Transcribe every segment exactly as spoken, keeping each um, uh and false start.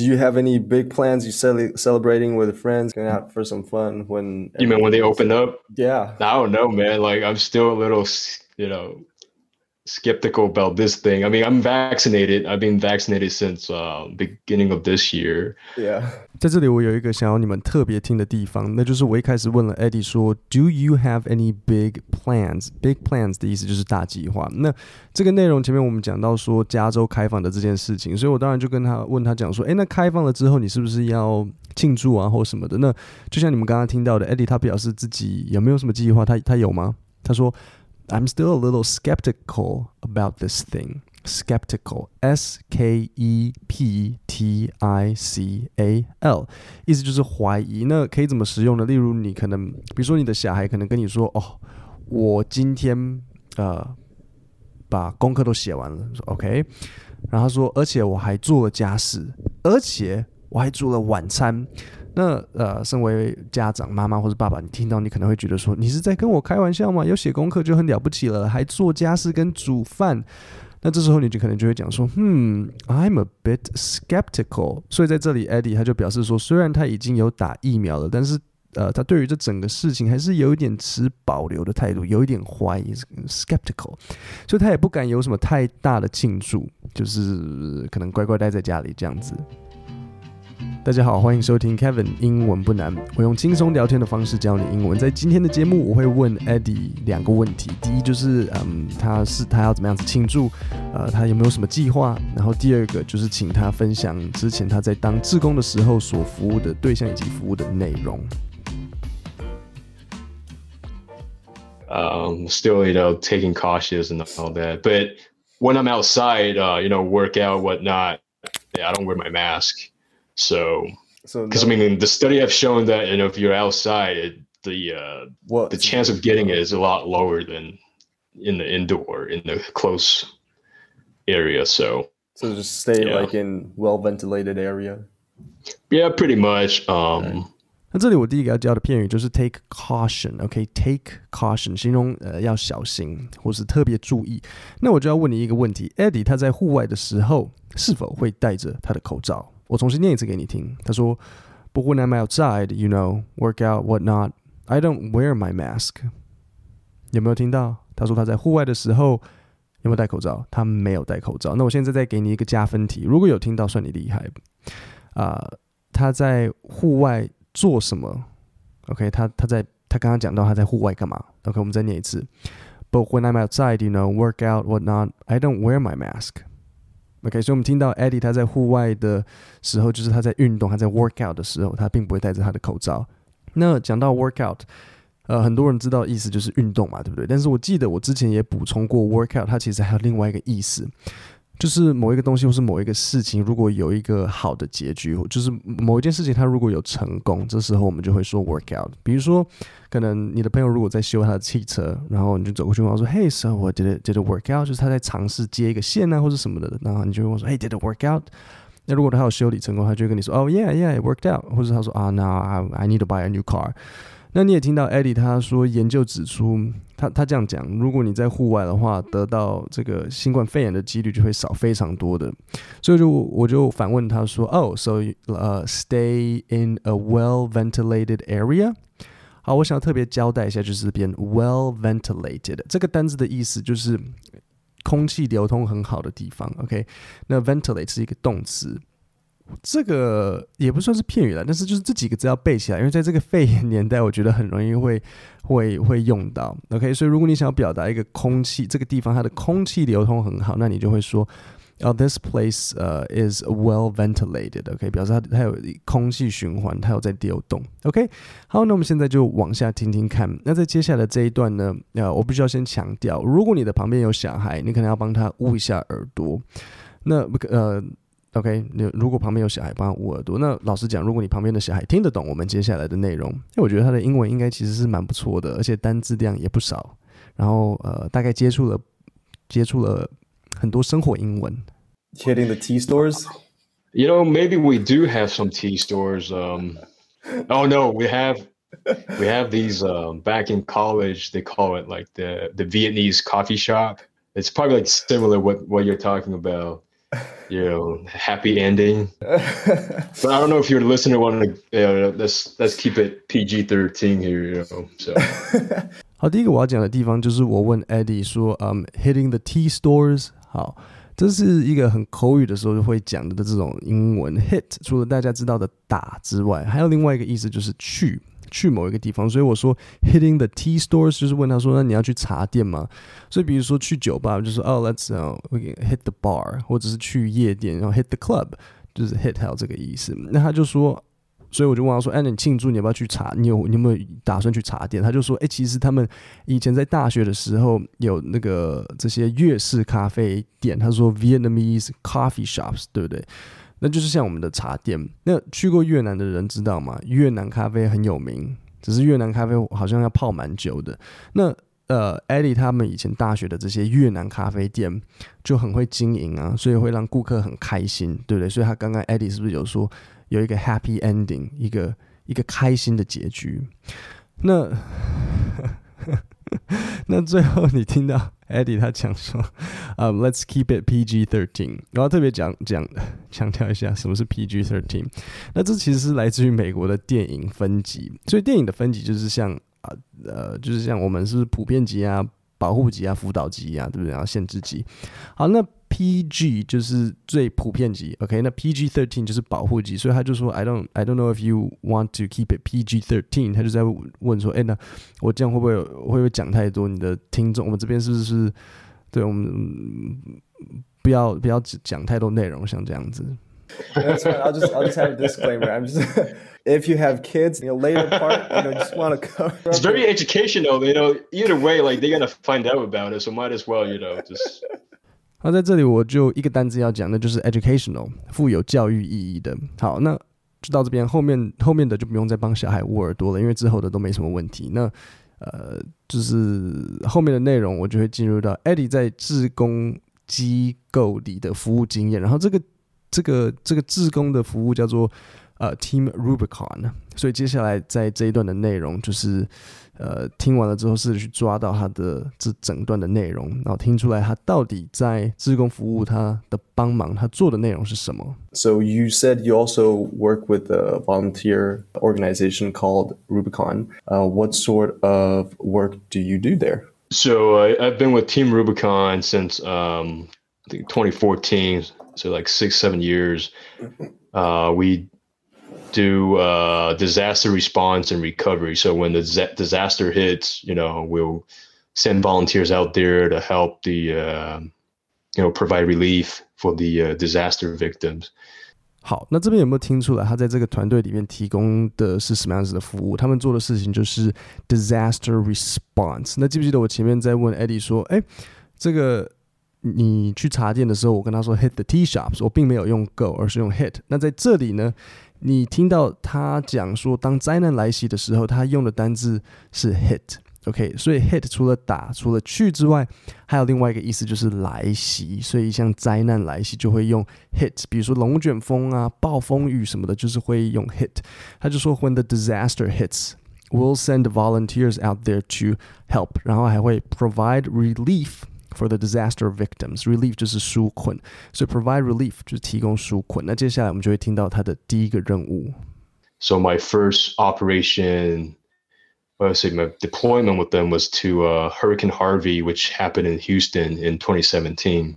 Do you have any big plans you cel- celebrating with friends, going out for some fun when You mean when they open up? Yeah. I don't know, man. Like I'm still a little, you know, skeptical about this thing. I mean, I'm vaccinated. I've been vaccinated since uh, beginning of this year. Yeah. 在这里我有一个想要你们特别听的地方，那就是我一开始问了 Eddie 说 Do you have any big plans? Big plans 的意思就是大计划。那这个内容前面我们讲到说加州开放的这件事情，所以我当然就跟他问他讲说，诶，那开放了之后你是不是要庆祝啊或什么的？那就像你们刚刚听到的 Eddie 他表示自己有没有什么计划，他他有吗？他说I'm still a little skeptical about this thing. Skeptical, S K E P T I C A L， 意思就是怀疑。那可以怎么使用呢？例如你可能，比如说你的小孩可能跟你说，哦，我今天呃把功课都写完了，说 OK， 然后他说，而且我还做了家事，而且我还做了晚餐。那呃，身为家长、妈妈或者爸爸，你听到你可能会觉得说，你是在跟我开玩笑吗？有写功课就很了不起了，还做家事跟煮饭。那这时候你就可能就会讲说，hmm, I'm a bit skeptical。所以在这里 ，Eddie 他就表示说，虽然他已经有打疫苗了，但是呃，他对于这整个事情还是有一点持保留的态度，有一点怀疑 ，skeptical。所以他也不敢有什么太大的庆祝，就是可能乖乖待在家里这样子。大家好，欢迎收听 Kevin 英文不难，我用轻松聊天的方式教你英文。在今天的节目，我会问 Eddie 两个问题，第一就是，嗯，他是他要怎么样子庆祝，呃，他有没有什么计划？然后第二个就是请他分享之前他在当志工的时候所服务的对象以及服务的内容。 Um, still, you know, taking cautious and all that. But when I'm outside, uh, you know, work out, whatnot, yeah, I don't wear my mask. So, because so no, I mean, the study have shown that, you know, if you're outside, it, the uh, what, the chance of getting it is a lot lower than in the indoor, in the close area. So, so just stay yeah. like in well ventilated area. Yeah, pretty much. Um, okay. 那这里我第一个要教的片语就是 take caution，OK，take caution 形容呃要小心或是特别注意。那我就要问你一个问题 ，Eddie 他在户外的时候是否会戴着他的口罩？我重新念一次给你听。他说 ，But when I'm outside, you know, work out, whatnot, I don't wear my mask。有没有听到？他说他在户外的时候有没有戴口罩？他没有戴口罩。那我现在再给你一个加分题，如果有听到，算你厉害。啊、呃，他在户外做什么 ？OK， 他他在他刚刚讲到他在户外干嘛 ？OK， 我们再念一次。But when I'm outside, you know, work out, whatnot, I don't wear my mask。OK， 所以我们听到 Eddie 他在户外的时候，就是他在运动，他在 work out 的时候，他并不会戴着他的口罩。那讲到 work out， 呃，很多人知道意思就是运动嘛，对不对？但是我记得我之前也补充过 work out， 它其实还有另外一个意思。就是某一个东西或是某一个事情，如果有一个好的结局，就是某一件事情它如果有成功，这时候我们就会说 work out。比如说，可能你的朋友如果在修他的汽车，然后你就走过去问他说 ，Hey, so what did it did it work out？ 就是他在尝试接一个线啊，或者什么的，然后你就会问说 ，Hey, did it work out？ 那如果他有修理成功，他就会跟你说，哦、oh, ，Yeah, yeah, it worked out。或者他说啊 ，Now I I need to buy a new car。那你也听到 Eddie 他说，研究指出，他他这样讲，如果你在户外的话，得到这个新冠肺炎的几率就会少非常多的。所以就我就反问他说 ，Oh, so uh, stay in a well ventilated area。好，我想要特别交代一下，就是这边 well ventilated 这个单字的意思就是空气流通很好的地方。OK， 那 ventilate 是一个动词。这个也不算是片语啦，但是就是这几个字要背起来，因为在这个肺炎年代，我觉得很容易会会会用到。OK， 所以如果你想要表达一个空气，这个地方它的空气流通很好，那你就会说，哦、oh, ，this place、uh, is well ventilated。OK， 表示它它有空气循环，它有在流动。OK， 好，那我们现在就往下听听看。那在接下来的这一段呢，呃，我必须要先强调，如果你的旁边有小孩，你可能要帮他捂一下耳朵。那呃。OK， 如果旁边有小孩帮他捂耳朵，那老实讲，如果你旁边的小孩听得懂我们接下来的内容，因为我觉得他的英文应该其实是蛮不错的，而且单字量也不少，然后呃，大概接触了接触了很多生活英文。 Hitting the tea stores? You know, maybe we do have some tea stores. Um, oh no, we have we have these um, back in college. They call it like the the Vietnamese coffee shop. It's probably like similar what what you're talking about. you know, happy ending. But I don't know if your listener wanted to, you know, let's let's keep it P G thirteen here, you know. So. 好，第一个我要讲的地方就是我问 Eddie 说，嗯、um,，hitting the T stores， 好，这是一个很口语的时候就会讲的这种英文 hit， 除了大家知道的打之外，还有另外一个意思就是去。去某一个地方，所以我说 hitting the tea stores 就是问他说，那你要去茶店吗？所以比如说去酒吧，就说哦 ，let's、uh, we can hit the bar， 或者是去夜店，然后 hit the club， 就是 hit 还有这个意思。那他就说，所以我就问他说，哎，你庆祝你要不要去茶？你有你有没有打算去茶店？他就说，哎，其实他们以前在大学的时候有那个这些粤式咖啡店，他说 Vietnamese coffee shops， 对不对？那就是像我们的茶店。那去过越南的人知道吗？越南咖啡很有名，只是越南咖啡好像要泡蛮久的。那呃 ，Eddie 他们以前大学的这些越南咖啡店就很会经营啊，所以会让顾客很开心，对不对？所以他刚刚 Eddie 是不是有说有一个 happy ending， 一个一个开心的结局？那那最后你听到 Eddie 他讲说、um, let's keep it P G thirteen， 然后特别讲讲强调一下什么是 P G thirteen。那这其实是来自于美国的电影分级，所以电影的分级就是像啊呃就是像我们是不是普遍级啊、保护级啊、辅导级啊，对不对？然后限制级。好，那 P G 就是最普遍级 ，OK？ 那 P G thirteen 就是保护级，所以他就说 I don't I don't know if you want to keep it P G thirteen， 他就在问说，哎，那我这样会不会会不会讲太多？你的听众，我们这边是不是对我们、嗯、不要不要讲太多内容，像这样子。 That's fine. I'll just I'll just have a disclaimer. I'm just if you have kids, you know, later part, you know, just want to cover. It's very educational, you know. Either way, like they're gonna find out about it, so might as well, you know, just. 好，在这里我就一个单字要讲，那就是 educational， 富有教育意义的。好，那就到这边，后面后面的就不用再帮小孩捂耳朵了，因为之后的都没什么问题。那呃，就是后面的内容，我就会进入到 Eddie 在志工机构里的服务经验，然后这个这个这个志工的服务叫做呃 Team Rubicon， 所以接下来在这一段的内容就是呃听完了之后试着去抓到他的这整段的内容，然后听出来他到底在志工服务他的帮忙，他做的内容是什么。 So you said you also work with a volunteer organization called Rubicon. Uh, what sort of work do you do there? So uh, I've been with Team Rubicon since um, I think twenty fourteen, so like six, seven years. Uh, we do uh, disaster response and recovery. So when the z- disaster hits, you know, we'll send volunteers out there to help the, uh, you know, provide relief for the uh, disaster victims. 好，那这边有没有听出来他在这个团队里面提供的是什么样子的服务？他们做的事情就是 disaster response。那记不记得我前面在问 Eddie 说，哎，这个你去茶店的时候，我跟他说 hit the tea shops， 我并没有用 go， 而是用 hit。那在这里呢，你听到他讲说，当灾难来袭的时候，他用的单字是 hit。OK， 所以 hit 除了打、除了去之外，还有另外一个意思就是来袭。所以像灾难来袭就会用 hit， 比如说龙卷风啊、暴风雨什么的，就是会用 hit。他就说 When the disaster hits, we'll send volunteers out there to help， 然后还会 provide relief for the disaster victims. Relief 就是纾困，所以 provide relief 就是提供纾困。那接下来我们就会听到他的第一个任务。 So my first operation.I would say my deployment with them was to uh, Hurricane Harvey, which happened in Houston in twenty seventeen.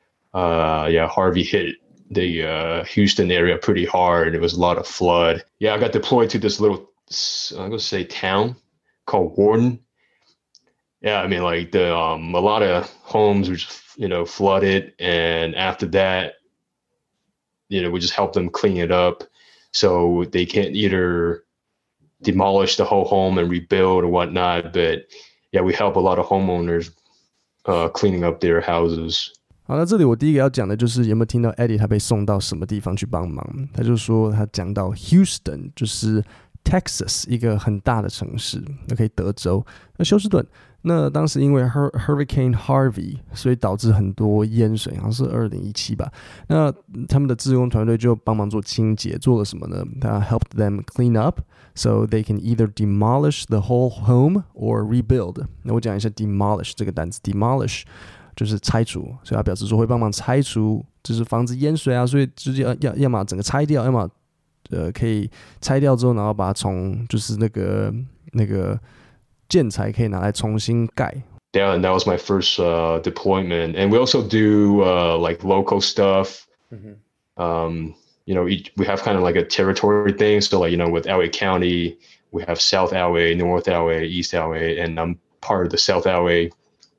Uh, yeah, Harvey hit the uh, Houston area pretty hard. It was a lot of flood. Yeah, I got deployed to this little, I'm going to say town called Warden. Yeah, I mean, like the um, a lot of homes were just, you know, flooded. And after that, you know, we just helped them clean it up so they can't either...demolish the whole home and rebuild or whatnot, but yeah, we help a lot of homeowners uh, cleaning up their houses. 好，那这里我第一个要讲的就是有没有听到 Eddie 他被送到什么地方去帮忙？他就说他讲到 Houston， 就是 Texas 一个很大的城市 ，OK， 德州。那休斯顿，那当时因为 Hurricane Harvey， 所以导致很多淹水，好像是二零一七吧。那他们的志工团队就帮忙做清洁，做了什么呢？他 helped them clean up。So they can either demolish the whole home or rebuild. 那我讲一下 demolish 这个单词 demolish 就是拆除，所以他表示说会帮忙拆除，就是防止淹水啊，所以就是要要要么整个拆掉，要么呃可以拆掉之后，然后把它从就是那个那个建材可以拿来重新盖。 Yeah, and that was my first uh, deployment. And we also do uh, like local stuff. Mm-hmm. Um, you know, each, we have kind of like a territory thing. So like, you know, with L A County, we have South L A, North L A, East L A, and I'm part of the South L A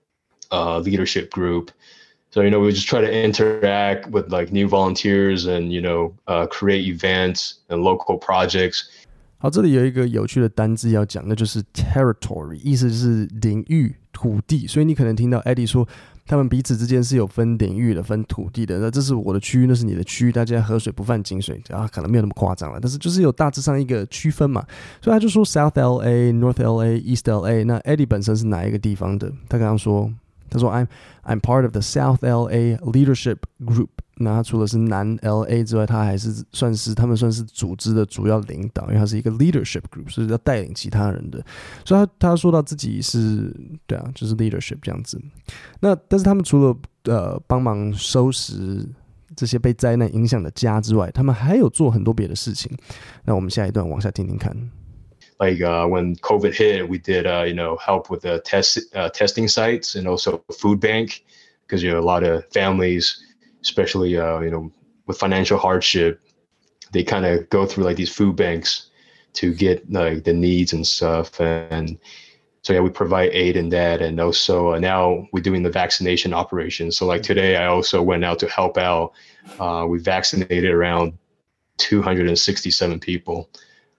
uh, leadership group. So, you know, we just try to interact with like new volunteers and, you know, uh, create events and local projects. 好，这里有一个有趣的单字要讲，那就是 territory， 意思是领域、土地。所以你可能听到 Eddie 说，他们彼此之间是有分领域的、分土地的。那这是我的区域，那是你的区域，大家河水不犯井水啊，可能没有那么夸张了，但是就是有大致上一个区分嘛。所以他就说 South L A、North L A、East L A。那 Eddie 本身是哪一个地方的？他刚刚说，他说 I'm I'm part of the South L A leadership group。那他除了是南 L A 之外，他还是算是他们算是组织的主要领导，因为他是一个 leadership group， 是要带领其他人的。所以他他说到自己是对啊，就是 leadership 这样子。那但是他们除了呃帮忙收拾这些被灾难影响的家之外，他们还有做很多别的事情。那我们下一段往下听听看。 Like uh, when COVID hit, we did uh, you know help with the test uh, testing sites and also food bank because you know a lot of families. Especially, uh, you know, with financial hardship, they kind of go through like these food banks to get like the needs and stuff. And so, yeah, we provide aid in that. And also uh, now we're doing the vaccination operation. So like today, I also went out to help out. Uh, we vaccinated around two hundred sixty-seven people.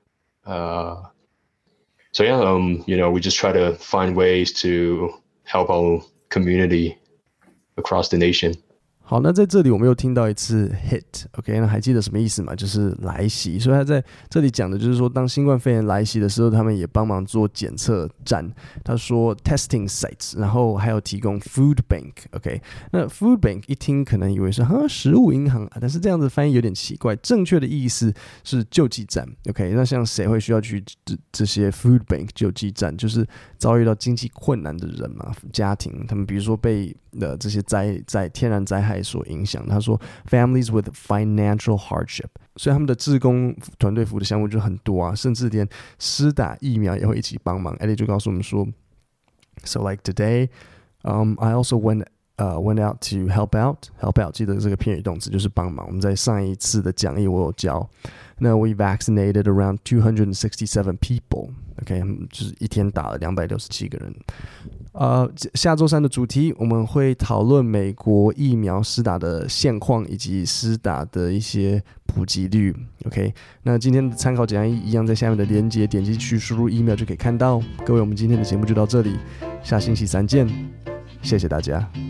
Uh, so, yeah, um, you know, we just try to find ways to help our community across the nation. 好，那在这里我们又听到一次 hit，OK，、okay, 那还记得什么意思吗？就是来袭。所以他在这里讲的就是说，当新冠肺炎来袭的时候，他们也帮忙做检测站。他说 testing sites， 然后还有提供 food bank，OK，、okay? 那 food bank 一听可能以为是哈食物银行，但是这样子翻译有点奇怪。正确的意思是救济站 ，OK， 那像谁会需要去 这, 这些 food bank 救济站？就是遭遇到经济困难的人嘛，家庭，他们比如说被呃这些灾灾天然灾害所影响。他说 families with financial hardship， 所以他们的志工团队服务的项目就很多啊，甚至连施打疫苗也会一起帮忙。Eddie 就告诉我们说 ，So like today, um, I also went uh, went out to help out. Help out 记得这个片语动词就是帮忙。我们在上一次的讲义我有教。那 we vaccinated around two hundred sixty-seven people。OK， 就是一天打了两百六十七个人。呃，下周三的主题我们会讨论美国疫苗施打的现况以及施打的一些普及率。OK， 那今天的参考讲义一样在下面的连结，点击去输入 email 就可以看到。各位，我们今天的节目就到这里，下星期三见，谢谢大家。